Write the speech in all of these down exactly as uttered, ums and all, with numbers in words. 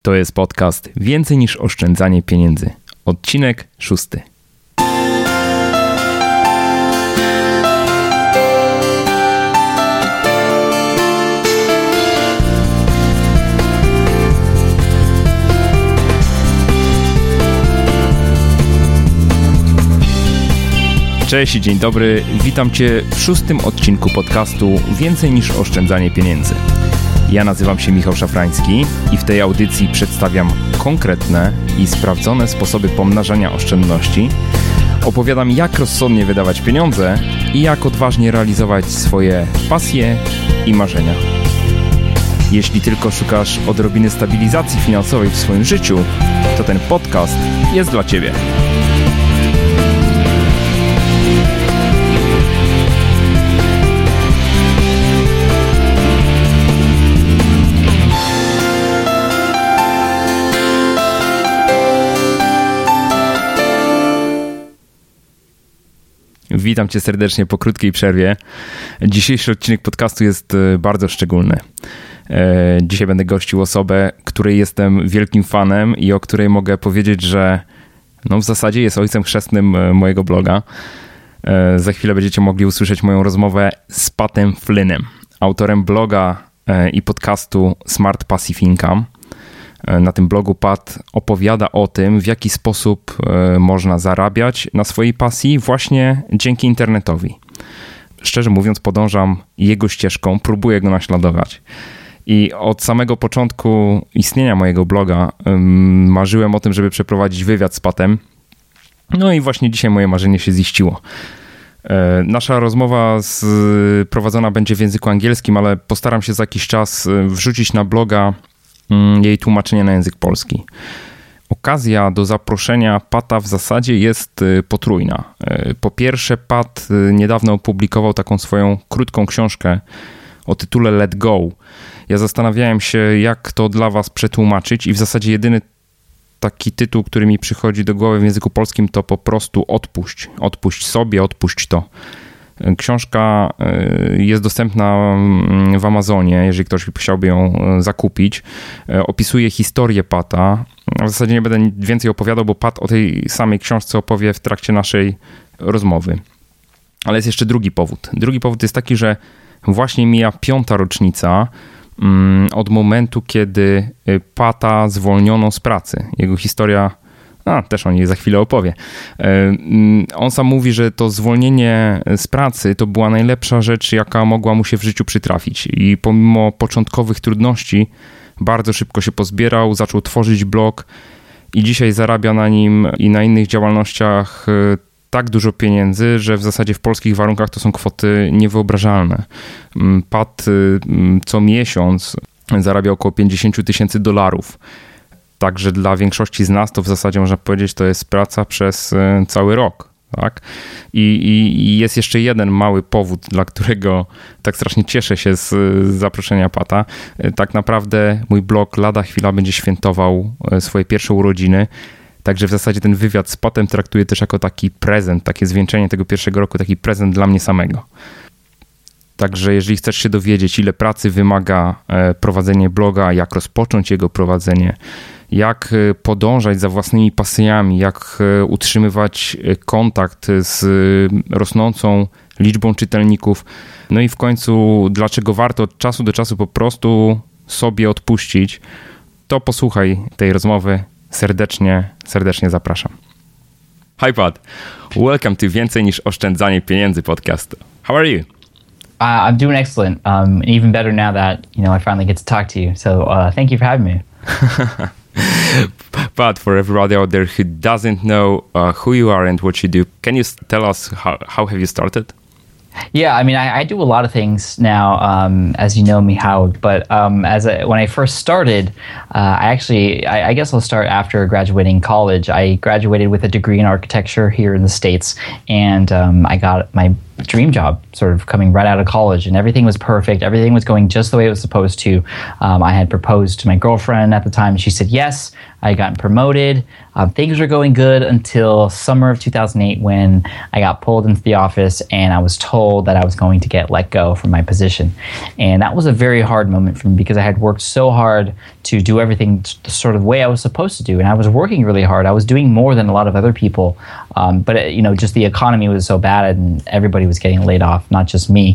To jest podcast Więcej niż oszczędzanie pieniędzy. Odcinek szósty. Cześć i dzień dobry. Witam Cię w szóstym odcinku podcastu Więcej niż oszczędzanie pieniędzy. Ja nazywam się Michał Szafrański i w tej audycji przedstawiam konkretne i sprawdzone sposoby pomnażania oszczędności. Opowiadam, jak rozsądnie wydawać pieniądze i jak odważnie realizować swoje pasje i marzenia. Jeśli tylko szukasz odrobiny stabilizacji finansowej w swoim życiu, to ten podcast jest dla Ciebie. Witam Cię serdecznie po krótkiej przerwie. Dzisiejszy odcinek podcastu jest bardzo szczególny. Dzisiaj będę gościł osobę, której jestem wielkim fanem i o której mogę powiedzieć, że no w zasadzie jest ojcem chrzestnym mojego bloga. Za chwilę będziecie mogli usłyszeć moją rozmowę z Patem Flynnem, autorem bloga i podcastu Smart Passive Income. Na tym blogu Pat opowiada o tym, w jaki sposób można zarabiać na swojej pasji właśnie dzięki internetowi. Szczerze mówiąc, podążam jego ścieżką, próbuję go naśladować. I od samego początku istnienia mojego bloga marzyłem o tym, żeby przeprowadzić wywiad z Patem. No i właśnie dzisiaj moje marzenie się ziściło. Nasza rozmowa z, prowadzona będzie w języku angielskim, ale postaram się za jakiś czas wrzucić na bloga jej tłumaczenie na język polski. Okazja do zaproszenia Pata w zasadzie jest potrójna. Po pierwsze, Pat niedawno opublikował taką swoją krótką książkę o tytule Let Go. Ja zastanawiałem się, jak to dla was przetłumaczyć i w zasadzie jedyny taki tytuł, który mi przychodzi do głowy w języku polskim, to po prostu odpuść. Odpuść sobie, odpuść to. Książka jest dostępna w Amazonie, jeżeli ktoś chciałby ją zakupić. Opisuje historię Pata. W zasadzie nie będę więcej opowiadał, bo Pat o tej samej książce opowie w trakcie naszej rozmowy. Ale jest jeszcze drugi powód. Drugi powód jest taki, że właśnie mija piąta rocznica od momentu, kiedy Pata zwolniono z pracy. Jego historia... A, też o niej za chwilę opowie. On sam mówi, że to zwolnienie z pracy to była najlepsza rzecz, jaka mogła mu się w życiu przytrafić. I pomimo początkowych trudności bardzo szybko się pozbierał, zaczął tworzyć blog i dzisiaj zarabia na nim i na innych działalnościach tak dużo pieniędzy, że w zasadzie w polskich warunkach to są kwoty niewyobrażalne. Pat co miesiąc zarabia około pięćdziesiąt tysięcy dolarów. Także dla większości z nas to w zasadzie można powiedzieć, to jest praca przez cały rok. Tak? I, i, I jest jeszcze jeden mały powód, dla którego tak strasznie cieszę się z, z zaproszenia Pata. Tak naprawdę mój blog lada chwila będzie świętował swoje pierwsze urodziny. Także w zasadzie ten wywiad z Patem traktuję też jako taki prezent, takie zwieńczenie tego pierwszego roku, taki prezent dla mnie samego. Także jeżeli chcesz się dowiedzieć, ile pracy wymaga prowadzenie bloga, jak rozpocząć jego prowadzenie, jak podążać za własnymi pasjami, jak utrzymywać kontakt z rosnącą liczbą czytelników, no i w końcu dlaczego warto od czasu do czasu po prostu sobie odpuścić, to posłuchaj tej rozmowy. Serdecznie, serdecznie zapraszam. Hi Pat, welcome to Więcej niż oszczędzanie pieniędzy podcast. How are you? Uh, I'm doing excellent. Um, and even better now that, you know, I finally get to talk to you. So uh, thank you for having me. But for everybody out there who doesn't know uh, who you are and what you do, can you tell us how, how have you started? Yeah, I mean, I, I do a lot of things now, um, as you know me, Howard. But um, as a, when I first started, uh, I actually, I, I guess I'll start after graduating college. I graduated with a degree in architecture here in the States, and um, I got my dream job, sort of coming right out of college, and everything was perfect. Everything was going just the way it was supposed to. Um, I had proposed to my girlfriend at the time. She said yes. I had gotten promoted. Um, things were going good until summer of two thousand eight, when I got pulled into the office and I was told that I was going to get let go from my position. And that was a very hard moment for me, because I had worked so hard to do everything sort of the way I was supposed to do. And I was working really hard. I was doing more than a lot of other people. Um, but, it, you know, just the economy was so bad and everybody was getting laid off, not just me.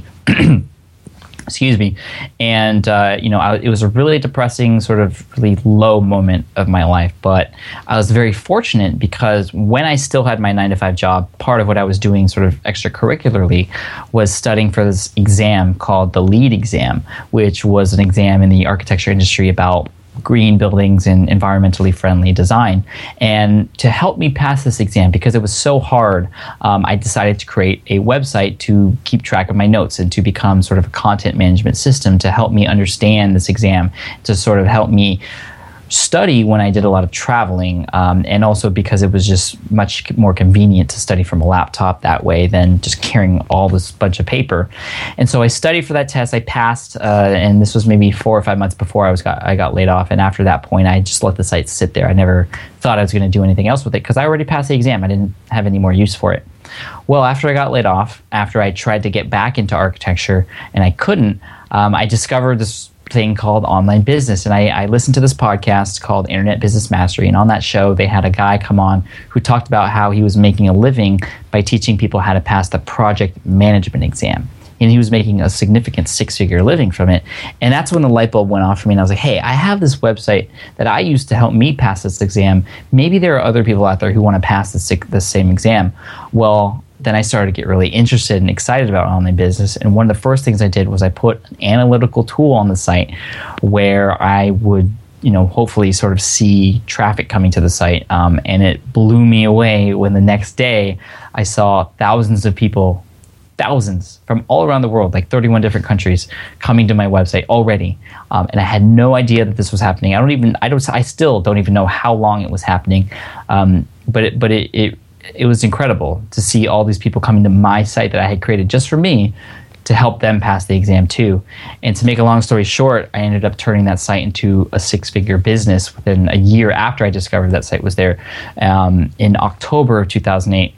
Excuse me. And, uh, you know, I, it was a really depressing, sort of really low moment of my life. But I was very fortunate, because when I still had my nine to five job, part of what I was doing sort of extracurricularly was studying for this exam called the LEED exam, which was an exam in the architecture industry about green buildings and environmentally friendly design. And to help me pass this exam, because it was so hard, um, I decided to create a website to keep track of my notes and to become sort of a content management system to help me understand this exam, to sort of help me study when I did a lot of traveling, um, and also because it was just much more convenient to study from a laptop that way than just carrying all this bunch of paper. And so I studied for that test. I passed, uh, and this was maybe four or five months before I was got I got laid off. And after that point, I just let the site sit there. I never thought I was going to do anything else with it, because I already passed the exam. I didn't have any more use for it. Well, after I got laid off, after I tried to get back into architecture and I couldn't, um, I discovered this thing called online business. And I, I listened to this podcast called Internet Business Mastery. And on that show, they had a guy come on who talked about how he was making a living by teaching people how to pass the project management exam. And he was making a significant six-figure living from it. And that's when the light bulb went off for me. And I was like, hey, I have this website that I used to help me pass this exam. Maybe there are other people out there who want to pass this, this same exam. Well, then I started to get really interested and excited about online business. And one of the first things I did was I put an analytical tool on the site where I would, you know, hopefully sort of see traffic coming to the site. Um, and it blew me away when the next day I saw thousands of people, thousands from all around the world, like thirty-one different countries, coming to my website already. Um, and I had no idea that this was happening. I don't even, I don't, I still don't even know how long it was happening. Um, but it, but it, it, it was incredible to see all these people coming to my site that I had created just for me to help them pass the exam too. And to make a long story short, I ended up turning that site into a six-figure business within a year after I discovered that site was there. Um, in October of two thousand eight,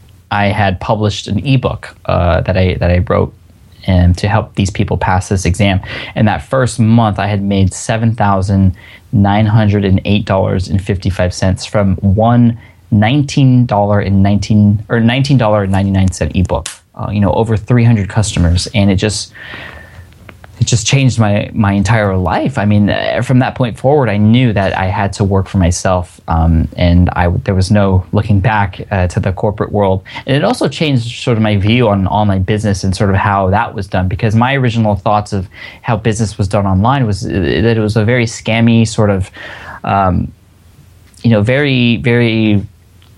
I had published an ebook uh, that I that I wrote and to help these people pass this exam. And that first month, I had made seven thousand nine hundred eight dollars and fifty-five cents from one nineteen dollars and nineteen or nineteen dollars and ninety-nine cents ebook. Uh, you know, over three hundred customers, and it just it just changed my my entire life. I mean, from that point forward, I knew that I had to work for myself, um, and I there was no looking back uh, to the corporate world. And it also changed sort of my view on online business and sort of how that was done, because my original thoughts of how business was done online was that it was a very scammy sort of, um, you know, very very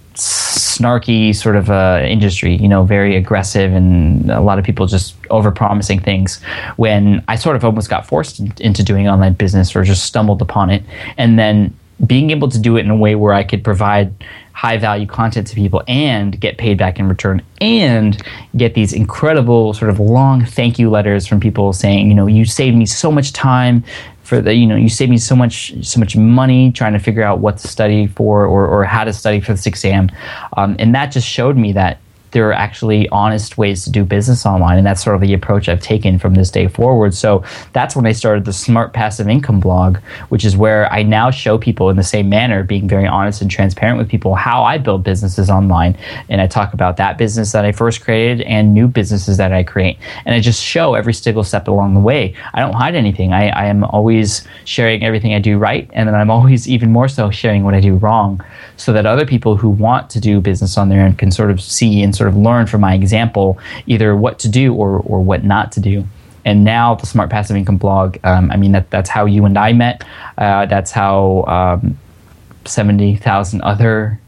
snarky sort of uh, industry, you know, very aggressive, and a lot of people just over-promising things, when I sort of almost got forced into doing online business or just stumbled upon it. And then being able to do it in a way where I could provide high-value content to people and get paid back in return, and get these incredible sort of long thank you letters from people saying, you know, you saved me so much time for the, you know, you saved me so much, so much money trying to figure out what to study for, or, or how to study for this exam. Um, and that just showed me that there are actually honest ways to do business online, and that's sort of the approach I've taken from this day forward. So that's when I started the Smart Passive Income blog, which is where I now show people in the same manner, being very honest and transparent with people, how I build businesses online. And I talk about that business that I first created and new businesses that I create. And I just show every single step along the way. I don't hide anything. I, I am always sharing everything I do right, and then I'm always even more so sharing what I do wrong, so that other people who want to do business on their own can sort of see and sort of learn from my example either what to do or or what not to do. And now the Smart Passive Income blog, um, I mean, that that's how you and I met. Uh, that's how um, seventy thousand other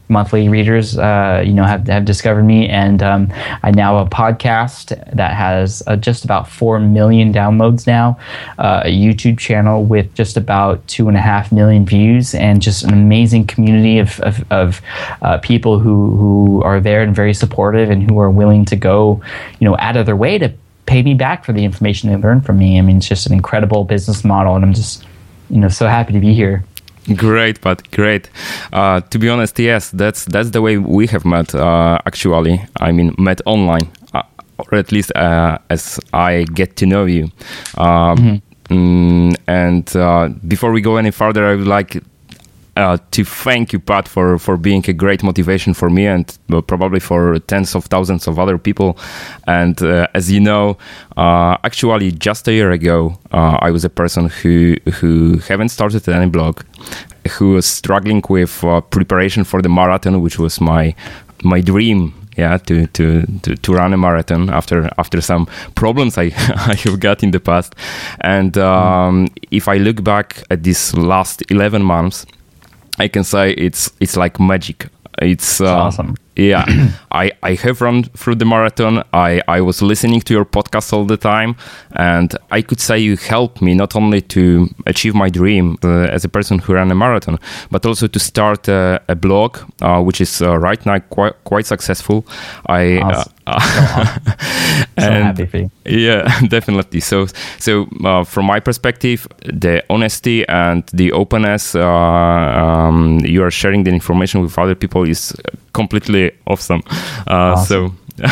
monthly readers, uh, you know, have have discovered me, and um, I now have a podcast that has uh, just about four million downloads now, uh, a YouTube channel with just about two and a half million views, and just an amazing community of of, of uh, people who who are there and very supportive, and who are willing to go, you know, out of their way to pay me back for the information they learned from me. I mean, it's just an incredible business model, and I'm just, you know, so happy to be here. Great, but great. Uh, to be honest, yes, that's that's the way we have met. Uh, actually, I mean, met online, uh, or at least uh, as I get to know you. Um, mm-hmm. mm, and uh, before we go any further, I would like uh, to thank you, Pat, for for being a great motivation for me, and uh, probably for tens of thousands of other people. And uh, as you know, uh, actually, just a year ago, uh, I was a person who who haven't started any blog, who was struggling with uh, preparation for the marathon, which was my my dream. Yeah, to, to, to, to run a marathon after after some problems I I have got in the past. And um, mm. if I look back at these last eleven months, I can say it's it's like magic. It's uh, awesome. Yeah, I, I have run through the marathon. I, I was listening to your podcast all the time, and I could say you helped me not only to achieve my dream uh, as a person who ran a marathon, but also to start a, a blog, uh, which is uh, right now quite quite successful. I awesome. uh, so, awesome. so and, happy for you. Yeah, definitely. So so uh, from my perspective, the honesty and the openness uh, um, you are sharing the information with other people is completely awesome. Uh, awesome. So,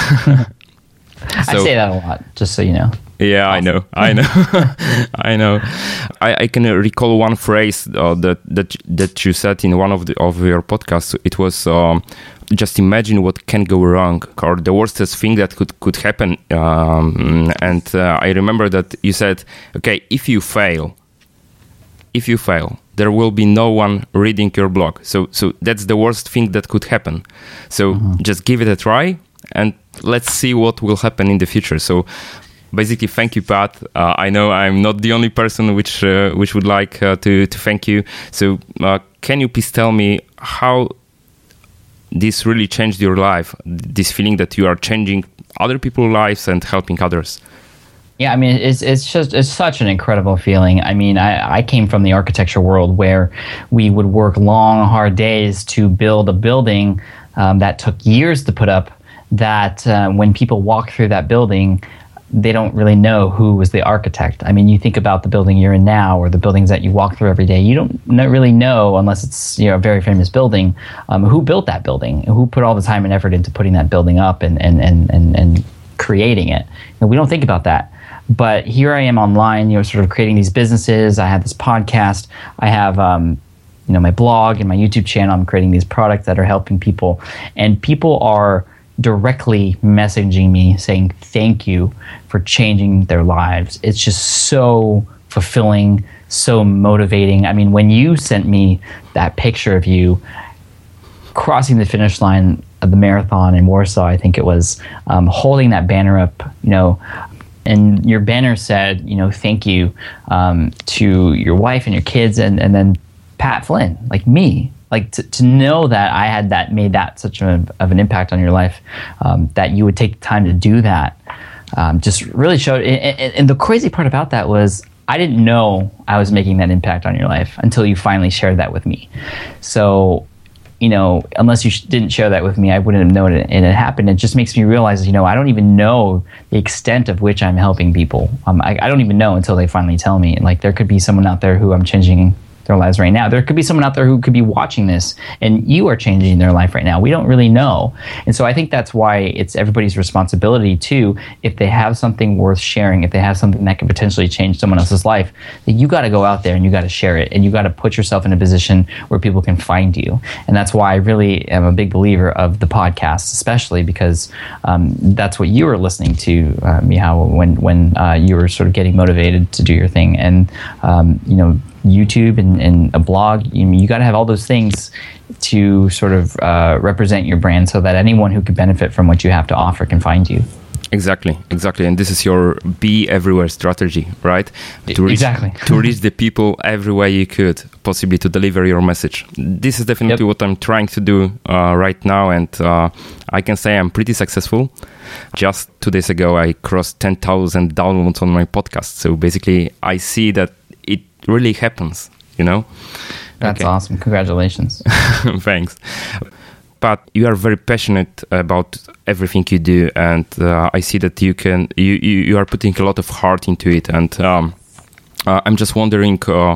so I say that a lot, just so you know. Yeah, awesome. I know, I know, I know. I, I can recall one phrase uh, that that that you said in one of the of your podcasts. It was um, just imagine what can go wrong, or the worstest thing that could could happen. Um, and uh, I remember that you said, "Okay, if you fail, if you fail." there will be no one reading your blog. So so that's the worst thing that could happen. So mm-hmm. just give it a try and let's see what will happen in the future. So basically, thank you, Pat. Uh, I know I'm not the only person which uh, which would like uh, to, to thank you. So uh, can you please tell me how this really changed your life, this feeling that you are changing other people's lives and helping others? Yeah, I mean, it's it's just it's such an incredible feeling. I mean, I, I came from the architecture world where we would work long, hard days to build a building um, that took years to put up, that uh, when people walk through that building, they don't really know who was the architect. I mean, you think about the building you're in now or the buildings that you walk through every day, you don't really know, unless it's, you know, a very famous building, um, who built that building, who put all the time and effort into putting that building up and, and, and, and, and creating it. And we don't think about that. But here I am online, you know, sort of creating these businesses. I have this podcast. I have, um, you know, my blog and my YouTube channel. I'm creating these products that are helping people. And people are directly messaging me saying thank you for changing their lives. It's just so fulfilling, so motivating. I mean, when you sent me that picture of you crossing the finish line of the marathon in Warsaw, I think it was, um, holding that banner up, you know, and your banner said, you know, thank you um, to your wife and your kids, and, and then Pat Flynn, like me. Like to, to know that I had that made that such a, of an impact on your life, um, that you would take time to do that, um, just really showed. And, and the crazy part about that was I didn't know I was making that impact on your life until you finally shared that with me. So, you know, unless you sh- didn't share that with me, I wouldn't have known it, and it happened. It just makes me realize, you know, I don't even know the extent of which I'm helping people. Um, I, I don't even know until they finally tell me. Like, there could be someone out there who I'm changing their lives right now. There could be someone out there who could be watching this and you are changing their life right now. We don't really know. And so I think that's why it's everybody's responsibility too, if they have something worth sharing, if they have something that could potentially change someone else's life, that you got to go out there and you got to share it, and you got to put yourself in a position where people can find you. And that's why I really am a big believer of the podcast, especially because um, that's what you were listening to, uh, Michał, when, when uh, you were sort of getting motivated to do your thing. And, um, you know, YouTube and, and a blog, you, you got to have all those things to sort of uh, represent your brand so that anyone who could benefit from what you have to offer can find you. Exactly, exactly. And this is your be everywhere strategy, right? To reach, exactly. to reach the people everywhere you could, possibly to deliver your message. This is definitely yep. what I'm trying to do uh, right now. And uh, I can say I'm pretty successful. Just two days ago, I crossed ten thousand downloads on my podcast. So basically, I see that it really happens, you know? That's okay. Awesome. Congratulations. Thanks. But you are very passionate about everything you do, and uh, I see that you can you, you, you are putting a lot of heart into it. And um, uh, I'm just wondering, uh,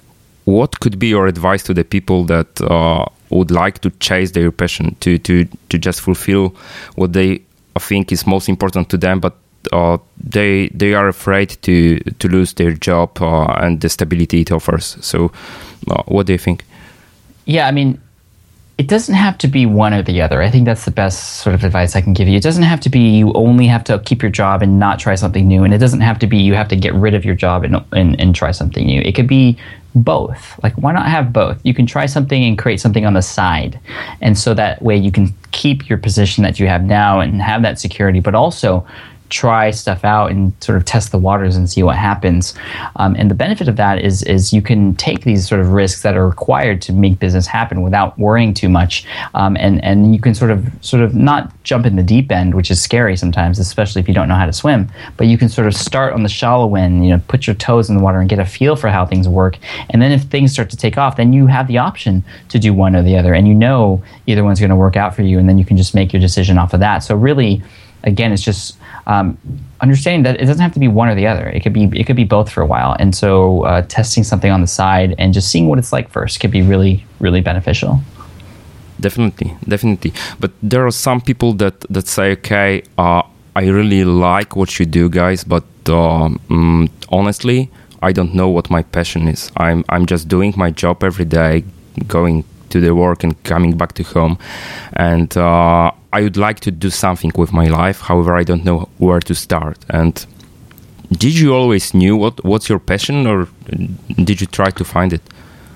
what could be your advice to the people that uh, would like to chase their passion, to to to just fulfill what they think is most important to them, but uh, they they are afraid to to lose their job uh, and the stability it offers. So, uh, what do you think? Yeah, I mean, it doesn't have to be one or the other. I think that's the best sort of advice I can give you. It doesn't have to be you only have to keep your job and not try something new. And it doesn't have to be you have to get rid of your job and, and, and try something new. It could be both. Like, why not have both? You can try something and create something on the side. And so that way you can keep your position that you have now and have that security, but also try stuff out and sort of test the waters and see what happens. Um, and the benefit of that is is you can take these sort of risks that are required to make business happen without worrying too much. Um, and, and you can sort of sort of not jump in the deep end, which is scary sometimes, especially if you don't know how to swim. But you can sort of start on the shallow end, you know, put your toes in the water and get a feel for how things work. And then if things start to take off, then you have the option to do one or the other. And you know either one's going to work out for you, and then you can just make your decision off of that. So really, again, it's just um, understanding that it doesn't have to be one or the other. It could be it could be both for a while. And so uh, testing something on the side and just seeing what it's like first could be really, really beneficial. Definitely, definitely. But there are some people that, that say, okay, uh, I really like what you do, guys, but um, mm, honestly, I don't know what my passion is. I'm I'm just doing my job every day, going to the work and coming back to home. And uh, I would like to do something with my life. However, I don't know where to start. And did you always knew what, what's your passion, or did you try to find it?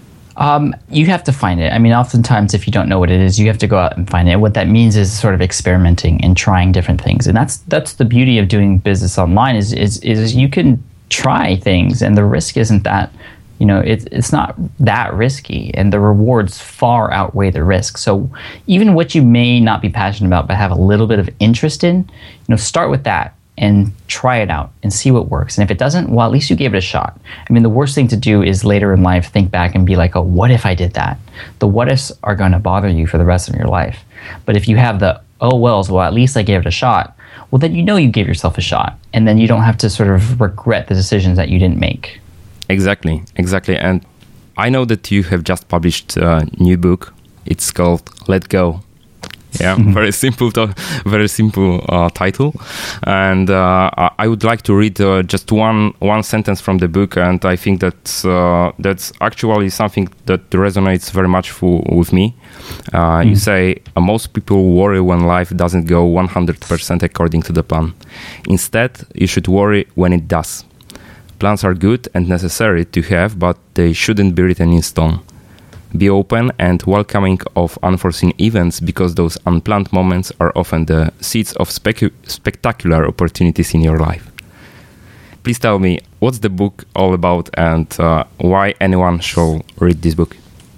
Um, you have to find it. I mean, oftentimes if you don't know what it is, you have to go out and find it. What that means is sort of experimenting and trying different things. And that's that's the beauty of doing business online is is, is you can try things, and the risk isn't that, you know, it's it's not that risky, and the rewards far outweigh the risk. So even what you may not be passionate about but have a little bit of interest in, you know, start with that and try it out and see what works. And if it doesn't, well, at least you gave it a shot. I mean, the worst thing to do is later in life think back and be like, oh, what if I did that? The what ifs are going to bother you for the rest of your life. But if you have the oh wells, well, at least I gave it a shot, well, then you know you gave yourself a shot, and then you don't have to sort of regret the decisions that you didn't make. Exactly, exactly. And I know that you have just published a new book. It's called Let Go. Yeah, mm-hmm. very simple, to- very simple uh, title. And uh, I would like to read uh, just one one sentence from the book, and I think that uh, that's actually something that resonates very much for, with me. Uh, mm-hmm. You say, most people worry when life doesn't go one hundred percent according to the plan. Instead, you should worry when it does. Plans are good and necessary to have, but they shouldn't be written in stone. Be open and welcoming of unforeseen events, because those unplanned moments are often the seeds of specu- spectacular opportunities in your life. Please tell me, what's the book all about, and uh, why anyone should read this book?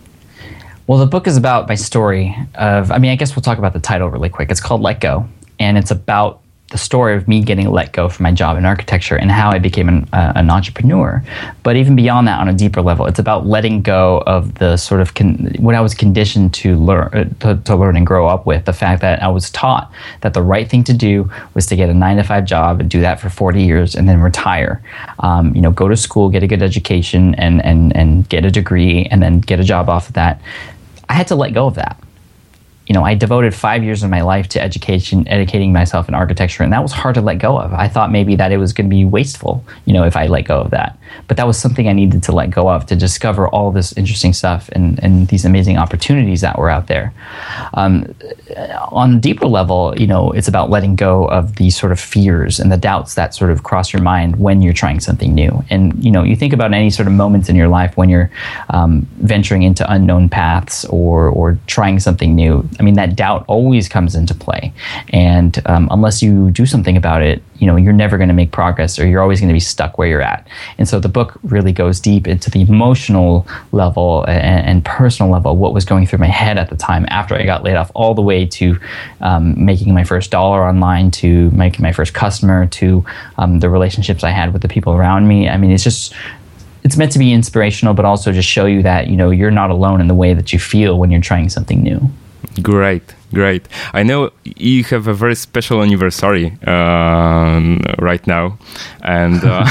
Well, the book is about my story of, I mean, I guess we'll talk about the title really quick. It's called Let Go, and it's about the story of me getting let go from my job in architecture and how I became an, uh, an entrepreneur. But even beyond that, on a deeper level, it's about letting go of the sort of con- what I was conditioned to learn, uh, to, to learn and grow up with. The fact that I was taught that the right thing to do was to get a nine to five job and do that for forty years and then retire. Um, you know, go to school, get a good education, and and and get a degree, and then get a job off of that. I had to let go of that. You know, I devoted five years of my life to education, educating myself in architecture, and that was hard to let go of. I thought maybe that it was going to be wasteful, you know, if I let go of that. But that was something I needed to let go of to discover all this interesting stuff and, and these amazing opportunities that were out there. Um, on a deeper level, you know, it's about letting go of these sort of fears and the doubts that sort of cross your mind when you're trying something new. And, you know, you think about any sort of moments in your life when you're um, venturing into unknown paths or, or trying something new. I mean, that doubt always comes into play. And um, unless you do something about it, you know, you're never going to make progress, or you're always going to be stuck where you're at. And so the book really goes deep into the emotional level and, and personal level, what was going through my head at the time after I got laid off, all the way to um, making my first dollar online, to making my first customer, to um, the relationships I had with the people around me. I mean, it's just, it's meant to be inspirational, but also just show you that, you know, you're not alone in the way that you feel when you're trying something new. Great, great. I know you have a very special anniversary um, right now, and uh,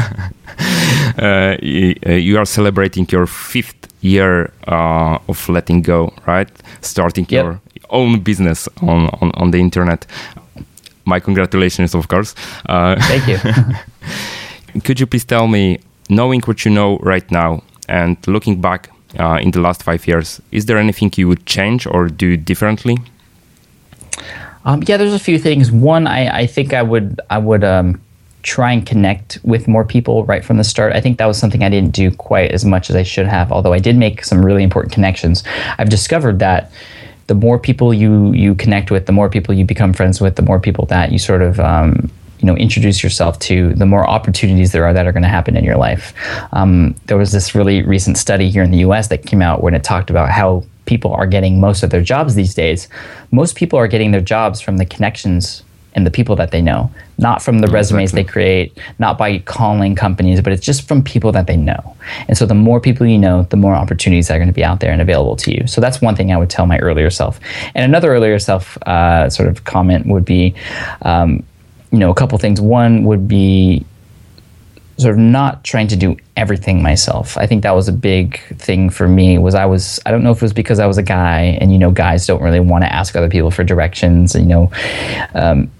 uh, you are celebrating your fifth year uh, of letting go, right? Starting yep. your own business on, on, on the internet. My congratulations, of course. Uh, Thank you. Could you please tell me, knowing what you know right now and looking back uh, in the last five years, is there anything you would change or do differently? Um, yeah, there's a few things. One, I, I think I would I would um, try and connect with more people right from the start. I think that was something I didn't do quite as much as I should have, although I did make some really important connections. I've discovered that the more people you you connect with, the more people you become friends with, the more people that you sort of um, you know introduce yourself to, the more opportunities there are that are going to happen in your life. Um, there was this really recent study here in the U S that came out when it talked about how people are getting most of their jobs these days. Most people are getting their jobs from the connections and the people that they know, not from the exactly. resumes they create, not by calling companies, but it's just from people that they know. And so the more people you know, the more opportunities are going to be out there and available to you. So that's one thing I would tell my earlier self. And another earlier self uh, sort of comment would be, um, you know, a couple things. One would be sort of not trying to do everything myself. I think that was a big thing for me. Was I was I don't know if it was because I was a guy, and you know, guys don't really want to ask other people for directions, and, you know, um,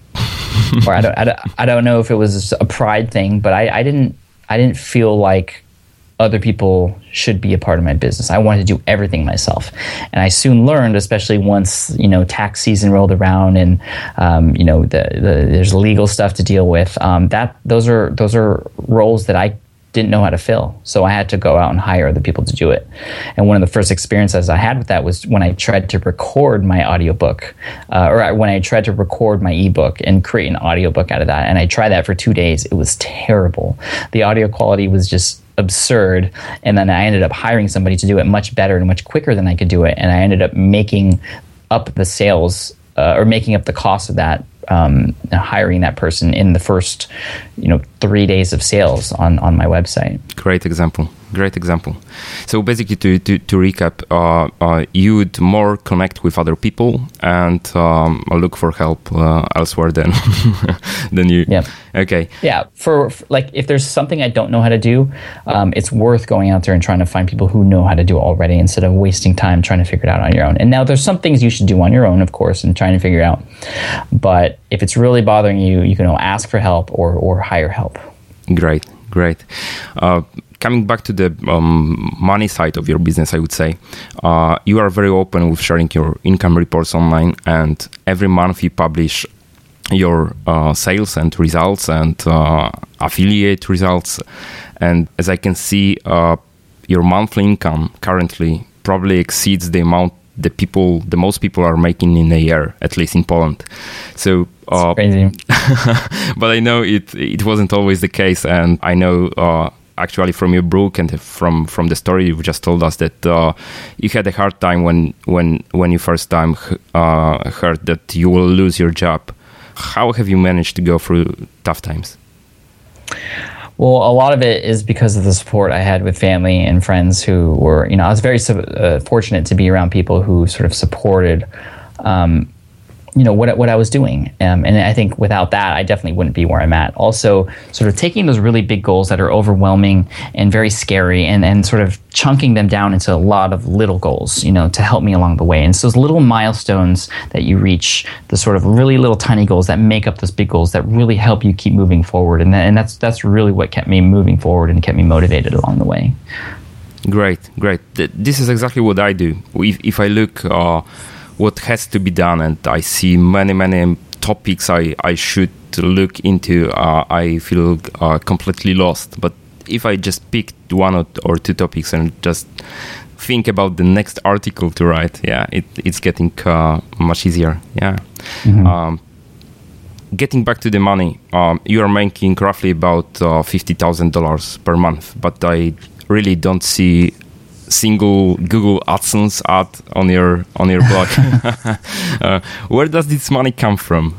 or I don't, I don't I don't know if it was a pride thing, but I, I didn't I didn't feel like other people should be a part of my business. I wanted to do everything myself. And I soon learned, especially once, you know, tax season rolled around and, um, you know, the, the, there's legal stuff to deal with, um, that those are those are roles that I didn't know how to fill. So I had to go out and hire other people to do it. And one of the first experiences I had with that was when I tried to record my audiobook, uh, or when I tried to record my ebook and create an audiobook out of that. And I tried that for two days. It was terrible. The audio quality was just absurd. And then I ended up hiring somebody to do it much better and much quicker than I could do it. And I ended up making up the sales uh, or making up the cost of that, um, hiring that person in the first, you know, three days of sales on, on my website. Great example. Great example. So basically, to to, to recap, uh, uh, you would more connect with other people and um, look for help uh, elsewhere than than you. Yeah. Okay. Yeah. For, for like, if there's something I don't know how to do, um, it's worth going out there and trying to find people who know how to do it already, instead of wasting time trying to figure it out on your own. And now there's some things you should do on your own, of course, and trying to figure it out. But if it's really bothering you, you can ask for help or or hire help. Great. Great. Uh, Coming back to the um, money side of your business, I would say, uh, you are very open with sharing your income reports online, and every month you publish your uh, sales and results and uh, affiliate results. And as I can see, uh, your monthly income currently probably exceeds the amount the people, the most people are making in a year, at least in Poland. So, uh, crazy. But I know it it wasn't always the case, and I know. Uh, Actually, from your book and from, from the story you've just told us, that uh, you had a hard time when when when you first time uh, heard that you will lose your job. How have you managed to go through tough times? Well, a lot of it is because of the support I had with family and friends who were, you know, I was very uh, fortunate to be around people who sort of supported, um, you know, what what I was doing. Um, and I think without that, I definitely wouldn't be where I'm at. Also, sort of taking those really big goals that are overwhelming and very scary, and, and sort of chunking them down into a lot of little goals, you know, to help me along the way. And it's those little milestones that you reach, the sort of really little tiny goals that make up those big goals that really help you keep moving forward. And, that, and that's that's really what kept me moving forward and kept me motivated along the way. Great, great. This is exactly what I do. If, if I look... Uh, what has to be done, and I see many, many topics I, I should look into, uh, I feel uh, completely lost. But if I just pick one or, or two topics and just think about the next article to write, yeah, it, it's getting uh, much easier. Yeah. Mm-hmm. Um, getting back to the money, um, you are making roughly about uh, fifty thousand dollars per month, but I really don't see single Google AdSense ad on your on your blog. uh, where does this money come from?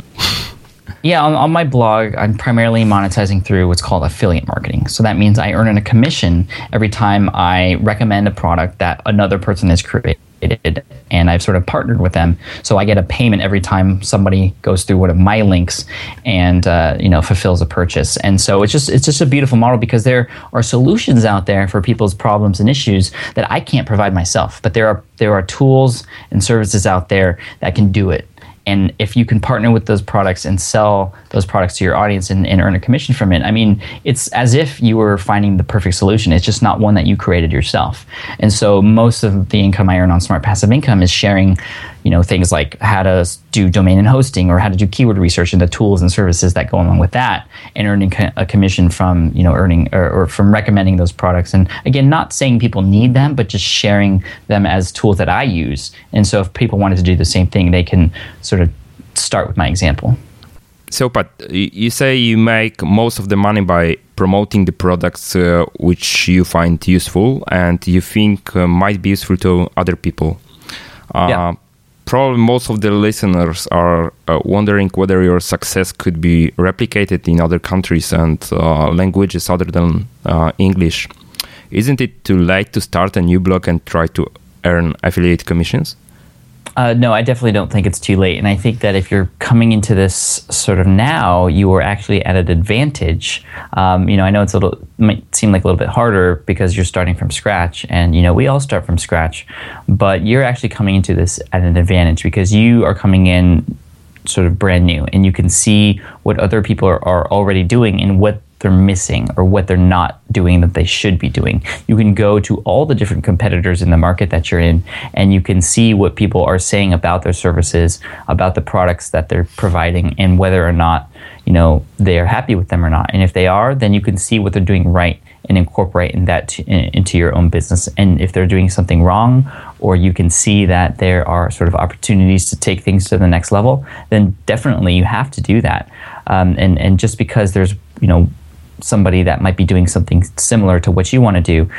Yeah, on, on my blog, I'm primarily monetizing through what's called affiliate marketing. So that means I earn a commission every time I recommend a product that another person has created, and I've sort of partnered with them. So I get a payment every time somebody goes through one of my links and uh, you know fulfills a purchase. And so it's just it's just a beautiful model because there are solutions out there for people's problems and issues that I can't provide myself. But there are there are tools and services out there that can do it. And if you can partner with those products and sell those products to your audience and, and earn a commission from it, I mean, it's as if you were finding the perfect solution. It's just not one that you created yourself. And so most of the income I earn on Smart Passive Income is sharing, you know, things like how to do domain and hosting or how to do keyword research and the tools and services that go along with that, and earning a commission from, you know, earning or, or from recommending those products. And again, not saying people need them, but just sharing them as tools that I use. And so if people wanted to do the same thing, they can sort of start with my example. So, Pat, you say you make most of the money by promoting the products uh, which you find useful and you think uh, might be useful to other people. Uh, yeah. Probably most of the listeners are uh, wondering whether your success could be replicated in other countries and uh, languages other than uh, English. Isn't it too late to start a new blog and try to earn affiliate commissions? Uh, no, I definitely don't think it's too late. And I think that if you're coming into this sort of now, you are actually at an advantage. Um, you know, I know it's a little, might seem like a little bit harder because you're starting from scratch. And, you know, we all start from scratch. But you're actually coming into this at an advantage because you are coming in sort of brand new. And you can see what other people are, are already doing and what they're missing or what they're not doing that they should be doing. You can go to all the different competitors in the market that you're in, and you can see what people are saying about their services, about the products that they're providing, and whether or not, you know, they are happy with them or not. And if they are, then you can see what they're doing right and incorporate that to, in, into your own business. And if they're doing something wrong, or you can see that there are sort of opportunities to take things to the next level, then definitely you have to do that. Um, and and just because there's, you know, somebody that might be doing something similar to what you want to do,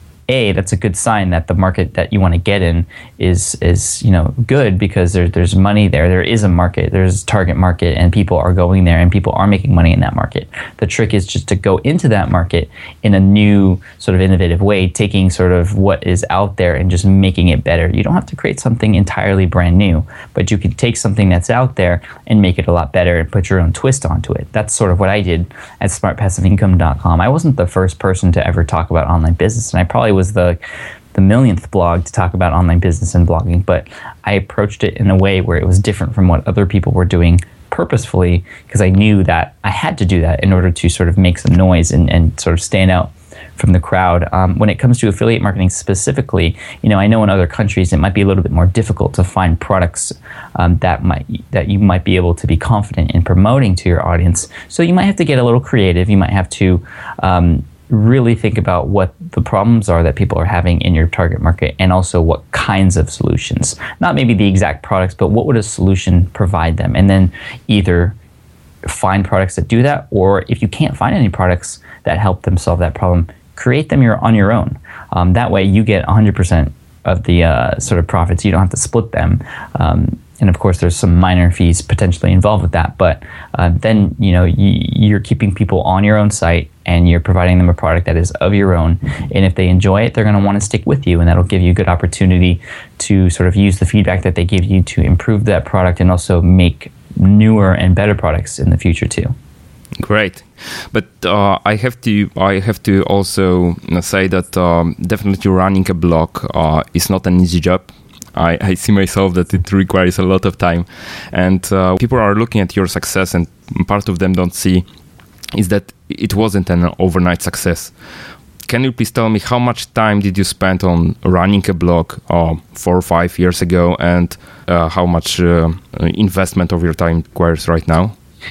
A, that's a good sign that the market that you want to get in is, is you know, good because there, there's money there. There is a market. There's a target market, and people are going there, and people are making money in that market. The trick is just to go into that market in a new sort of innovative way, taking sort of what is out there and just making it better. You don't have to create something entirely brand new, but you can take something that's out there and make it a lot better and put your own twist onto it. That's sort of what I did at smart passive income dot com. I wasn't the first person to ever talk about online business, and I probably was the the millionth blog to talk about online business and blogging, but I approached it in a way where it was different from what other people were doing purposefully, because I knew that I had to do that in order to sort of make some noise and, and sort of stand out from the crowd. Um, when it comes to affiliate marketing specifically, you know, I know in other countries it might be a little bit more difficult to find products um, that might that you might be able to be confident in promoting to your audience. So you might have to get a little creative. You might have to um, really think about what the problems are that people are having in your target market, and also what kinds of solutions, not maybe the exact products, but what would a solution provide them, and then either find products that do that, or if you can't find any products that help them solve that problem, create them your, on your own. Um, that way you get one hundred percent of the uh, sort of profits. You don't have to split them. Um, and of course, there's some minor fees potentially involved with that. But uh, then, you know, you, you're keeping people on your own site, and you're providing them a product that is of your own. And if they enjoy it, they're going to want to stick with you, and that'll give you a good opportunity to sort of use the feedback that they give you to improve that product and also make newer and better products in the future too. Great, but uh, I have to I have to also say that um, definitely running a blog uh, is not an easy job. I, I see myself that it requires a lot of time, and uh, people are looking at your success, and part of them don't see is that it wasn't an overnight success. Can you please tell me how much time did you spend on running a blog uh, four or five years ago, and uh, how much uh, investment of your time requires right now?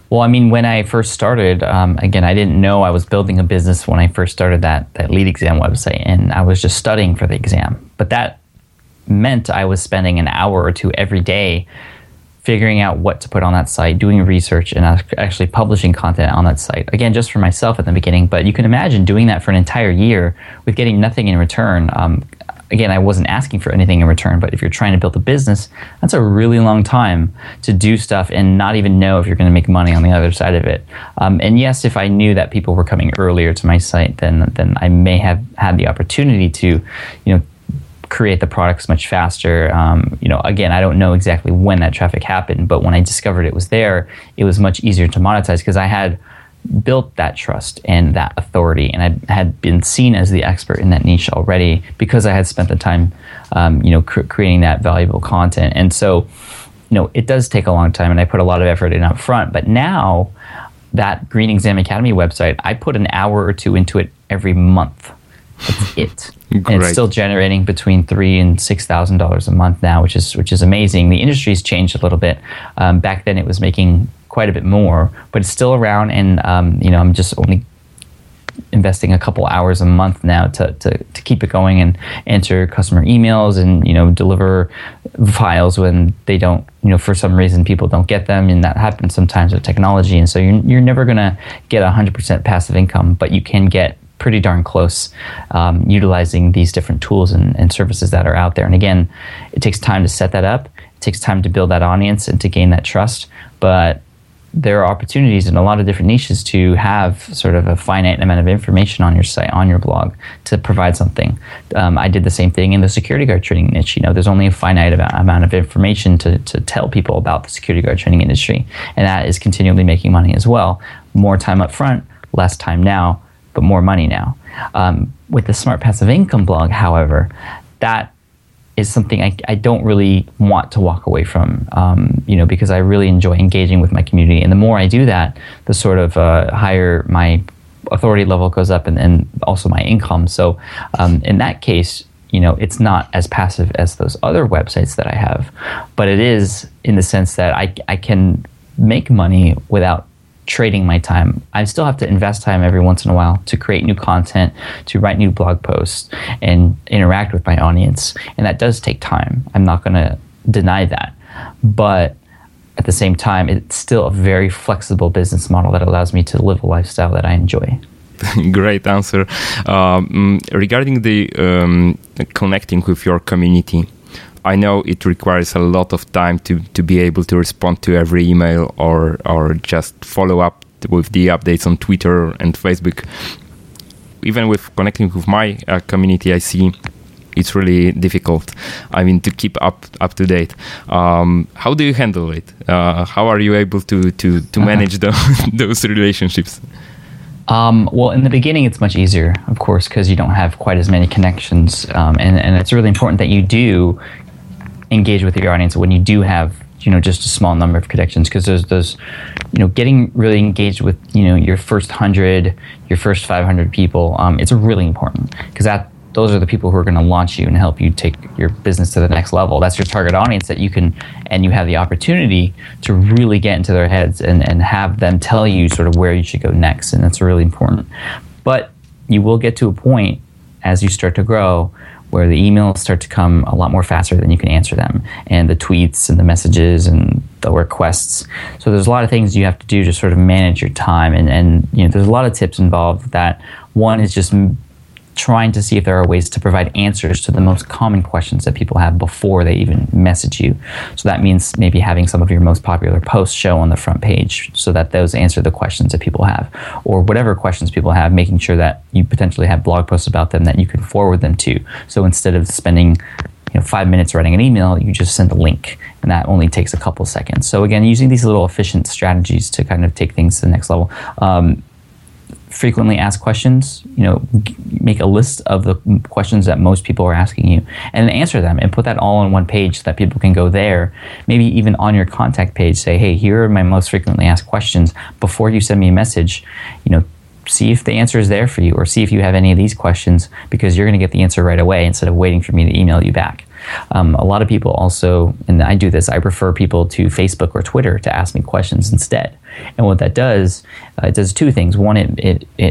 Well, I mean, when I first started, um, again, I didn't know I was building a business when I first started that that lead exam website, and I was just studying for the exam. But that meant I was spending an hour or two every day figuring out what to put on that site, doing research, and actually publishing content on that site. Again, just for myself at the beginning, but you can imagine doing that for an entire year with getting nothing in return. Um, Again, I wasn't asking for anything in return, but if you're trying to build a business, that's a really long time to do stuff and not even know if you're going to make money on the other side of it. Um, and yes, if I knew that people were coming earlier to my site, then then I may have had the opportunity to, you know, create the products much faster. Um, you know, again, I don't know exactly when that traffic happened, but when I discovered it was there, it was much easier to monetize because I had built that trust and that authority, and I had been seen as the expert in that niche already because I had spent the time, um, you know, cr- creating that valuable content. And so, you know, it does take a long time, and I put a lot of effort in up front. But now, that Green Exam Academy website, I put an hour or two into it every month. That's it. And it's still generating between three and six thousand dollars a month now, which is which is amazing. The industry's changed a little bit. Um, back then, it was making quite a bit more, but it's still around, and um, you know, I'm just only investing a couple hours a month now to, to to keep it going and answer customer emails and, you know, deliver files when they don't, you know, for some reason people don't get them, and that happens sometimes with technology. And so you're you're never gonna get a hundred percent passive income, but you can get pretty darn close um, utilizing these different tools and, and services that are out there. And again, it takes time to set that up. It takes time to build that audience and to gain that trust, but there are opportunities in a lot of different niches to have sort of a finite amount of information on your site, on your blog, to provide something. Um, I did the same thing in the security guard training niche. You know, there's only a finite amount of information to, to tell people about the security guard training industry, and that is continually making money as well. More time up front, less time now, but more money now. Um, with the Smart Passive Income blog, however, that is something I, I don't really want to walk away from, um, you know, because I really enjoy engaging with my community. And the more I do that, the sort of uh, higher my authority level goes up, and, and also my income. So um, in that case, you know, it's not as passive as those other websites that I have, but it is in the sense that I, I can make money without trading my time. I still have to invest time every once in a while to create new content, to write new blog posts, and interact with my audience. And that does take time. I'm not going to deny that. But at the same time, it's still a very flexible business model that allows me to live a lifestyle that I enjoy. Great answer. Um, regarding the um, connecting with your community, I know it requires a lot of time to, to be able to respond to every email or or just follow up with the updates on Twitter and Facebook. Even with connecting with my uh, community, I see it's really difficult. I mean, to keep up up to date. Um, how do you handle it? Uh, how are you able to to to manage uh-huh. the, those relationships? Um, well, in the beginning, it's much easier, of course, because you don't have quite as many connections, um, and and it's really important that you do engage with your audience when you do have, you know, just a small number of connections, because there's those, you know, getting really engaged with, you know, your first hundred, your first five hundred people. Um, it's really important because that those are the people who are going to launch you and help you take your business to the next level. That's your target audience that you can, and you have the opportunity to really get into their heads and, and have them tell you sort of where you should go next. And that's really important. But you will get to a point as you start to grow where the emails start to come a lot more faster than you can answer them, and the tweets and the messages and the requests. So there's a lot of things you have to do to sort of manage your time, and, and you know, there's a lot of tips involved with that. One is just m- trying to see if there are ways to provide answers to the most common questions that people have before they even message you. So that means maybe having some of your most popular posts show on the front page so that those answer the questions that people have, or whatever questions people have, making sure that you potentially have blog posts about them that you can forward them to. So instead of spending, you know, five minutes writing an email, you just send a link, and that only takes a couple seconds. So again, using these little efficient strategies to kind of take things to the next level. Um, frequently asked questions, you know, g- make a list of the questions that most people are asking you and answer them, and put that all on one page so that people can go there. Maybe even on your contact page, say, hey, here are my most frequently asked questions. Before you send me a message, you know, see if the answer is there for you, or see if you have any of these questions, because you're going to get the answer right away instead of waiting for me to email you back. Um, a lot of people also, and I do this, I refer people to Facebook or Twitter to ask me questions instead. And what that does, uh, it does two things. One, it, it, it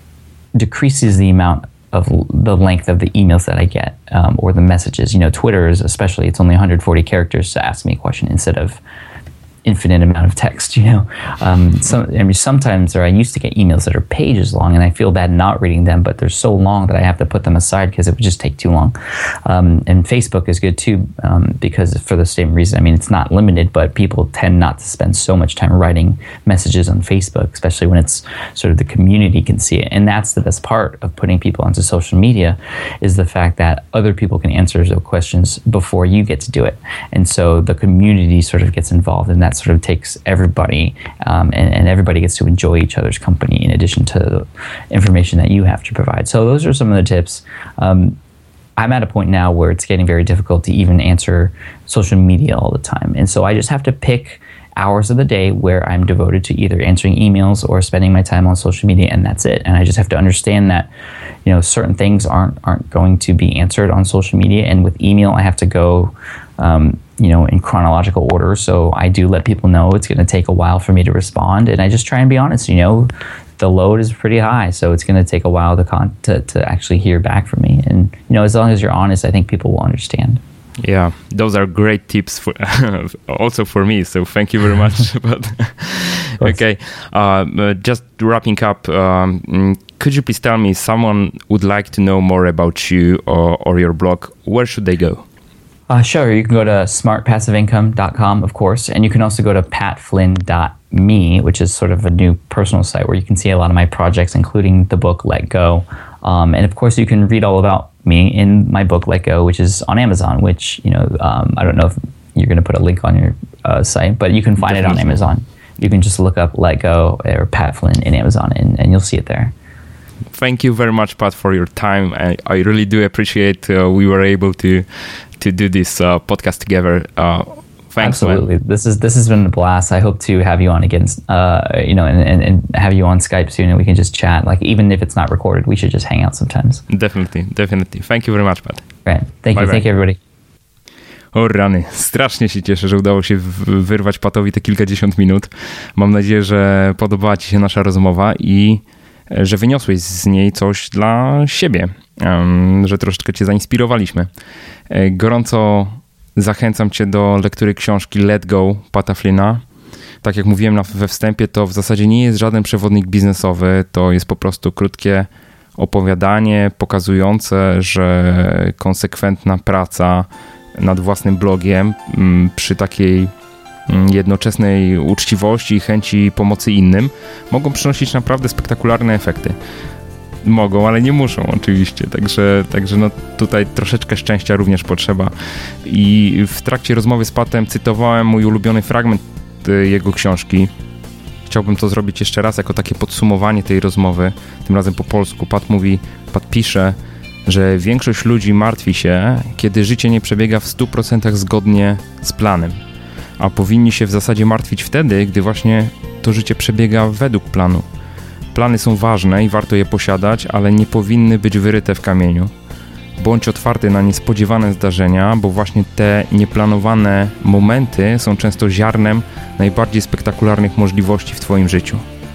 decreases the amount of the length of the emails that I get, um, or the messages. You know, Twitter is especially, it's only one hundred forty characters to ask me a question instead of infinite amount of text, you know. Um, some, I mean, sometimes, or I used to get emails that are pages long, and I feel bad not reading them, but they're so long that I have to put them aside because it would just take too long. Um, and Facebook is good too, um, because for the same reason. I mean, it's not limited, but people tend not to spend so much time writing messages on Facebook, especially when it's sort of the community can see it. And that's the best part of putting people onto social media, is the fact that other people can answer those questions before you get to do it. And so the community sort of gets involved, and that sort of takes everybody, um, and, and everybody gets to enjoy each other's company in addition to the information that you have to provide. So those are some of the tips. Um, I'm at a point now where it's getting very difficult to even answer social media all the time. And so I just have to pick hours of the day where I'm devoted to either answering emails or spending my time on social media, and that's it. And I just have to understand that, you know, certain things aren't aren't going to be answered on social media. And with email, I have to go um, you know, in chronological order. So I do let people know it's going to take a while for me to respond. And I just try and be honest, you know, the load is pretty high. So it's going to take a while to, con- to, to actually hear back from me. And, you know, as long as you're honest, I think people will understand. Yeah, those are great tips for also for me. So thank you very much. But okay, uh, just wrapping up, um, could you please tell me, someone would like to know more about you or, or your blog, where should they go? Uh, sure, you can go to smart passive income dot com, of course, and you can also go to pat flynn dot me, which is sort of a new personal site where you can see a lot of my projects, including the book Let Go. Um, and of course, you can read all about me in my book Let Go, which is on Amazon, which, you know, um, I don't know if you're going to put a link on your uh, site, but you can find Definitely. It on Amazon. You can just look up Let Go or Pat Flynn in Amazon, and, and you'll see it there. Thank you very much, Pat, for your time. I, I really do appreciate uh, we were able to to do this uh, podcast together. Uh, thanks, Absolutely. Man. This is this has been a blast. I hope to have you on again, uh, you know, and, and, and have you on Skype soon, and we can just chat. Like, even if it's not recorded, we should just hang out sometimes. Definitely, definitely. Thank you very much, Pat. Right. Thank bye you. Bye. Thank you, everybody. O rany, strasznie się cieszę, że udało się wyrwać Patowi te kilkadziesiąt minut. Mam nadzieję, że podobała ci się nasza rozmowa i że wyniosłeś z niej coś dla siebie, że troszeczkę cię zainspirowaliśmy. Gorąco zachęcam cię do lektury książki Let Go Pata Flynna. Tak jak mówiłem we wstępie, to w zasadzie nie jest żaden przewodnik biznesowy, to jest po prostu krótkie opowiadanie pokazujące, że konsekwentna praca nad własnym blogiem przy takiej jednoczesnej uczciwości i chęci pomocy innym mogą przynosić naprawdę spektakularne efekty. Mogą, ale nie muszą oczywiście, także, także no tutaj troszeczkę szczęścia również potrzeba. I w trakcie rozmowy z Patem cytowałem mój ulubiony fragment jego książki. Chciałbym to zrobić jeszcze raz jako takie podsumowanie tej rozmowy, tym razem po polsku. Pat mówi, Pat pisze, że większość ludzi martwi się, kiedy życie nie przebiega w stu procentach zgodnie z planem. A powinni się w zasadzie martwić wtedy, gdy właśnie to życie przebiega według planu. Plany są ważne i warto je posiadać, ale nie powinny być wyryte w kamieniu. Bądź otwarty na niespodziewane zdarzenia, bo właśnie te nieplanowane momenty są często ziarnem najbardziej spektakularnych możliwości w twoim życiu.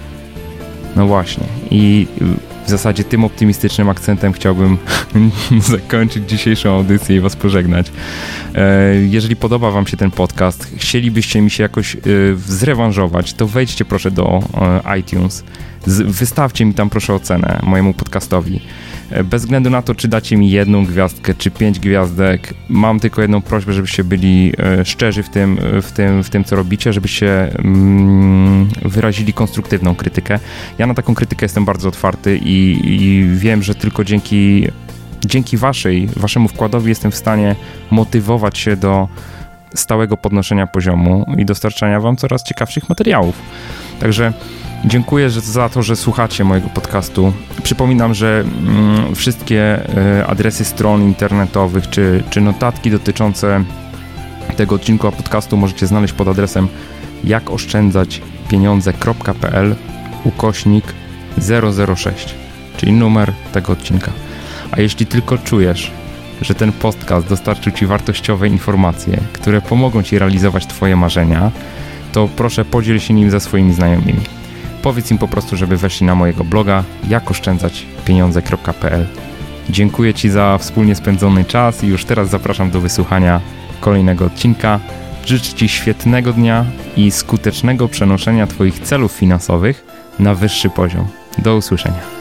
No właśnie. I w zasadzie tym optymistycznym akcentem chciałbym zakończyć dzisiejszą audycję i was pożegnać. Jeżeli podoba wam się ten podcast, chcielibyście mi się jakoś zrewanżować, to wejdźcie proszę do iTunes. Wystawcie mi tam proszę ocenę mojemu podcastowi. Bez względu na to, czy dacie mi jedną gwiazdkę, czy pięć gwiazdek, mam tylko jedną prośbę, żebyście byli szczerzy w tym, w tym, w tym co robicie, żebyście mm, wyrazili konstruktywną krytykę. Ja na taką krytykę jestem bardzo otwarty i, i wiem, że tylko dzięki, dzięki waszej, waszemu wkładowi jestem w stanie motywować się do stałego podnoszenia poziomu i dostarczania wam coraz ciekawszych materiałów. Także dziękuję za to, że słuchacie mojego podcastu. Przypominam, że mm, wszystkie y, adresy stron internetowych czy, czy notatki dotyczące tego odcinku podcastu możecie znaleźć pod adresem jakoszczędzaćpieniądze kropka p l ukośnik zero zero sześć, czyli numer tego odcinka. A jeśli tylko czujesz, że ten podcast dostarczył Ci wartościowe informacje, które pomogą Ci realizować Twoje marzenia, to proszę podziel się nim ze swoimi znajomymi. Powiedz im po prostu, żeby weszli na mojego bloga jak oszczędzać pieniądze kropka p l. Dziękuję Ci za wspólnie spędzony czas i już teraz zapraszam do wysłuchania kolejnego odcinka. Życzę Ci świetnego dnia i skutecznego przenoszenia Twoich celów finansowych na wyższy poziom. Do usłyszenia.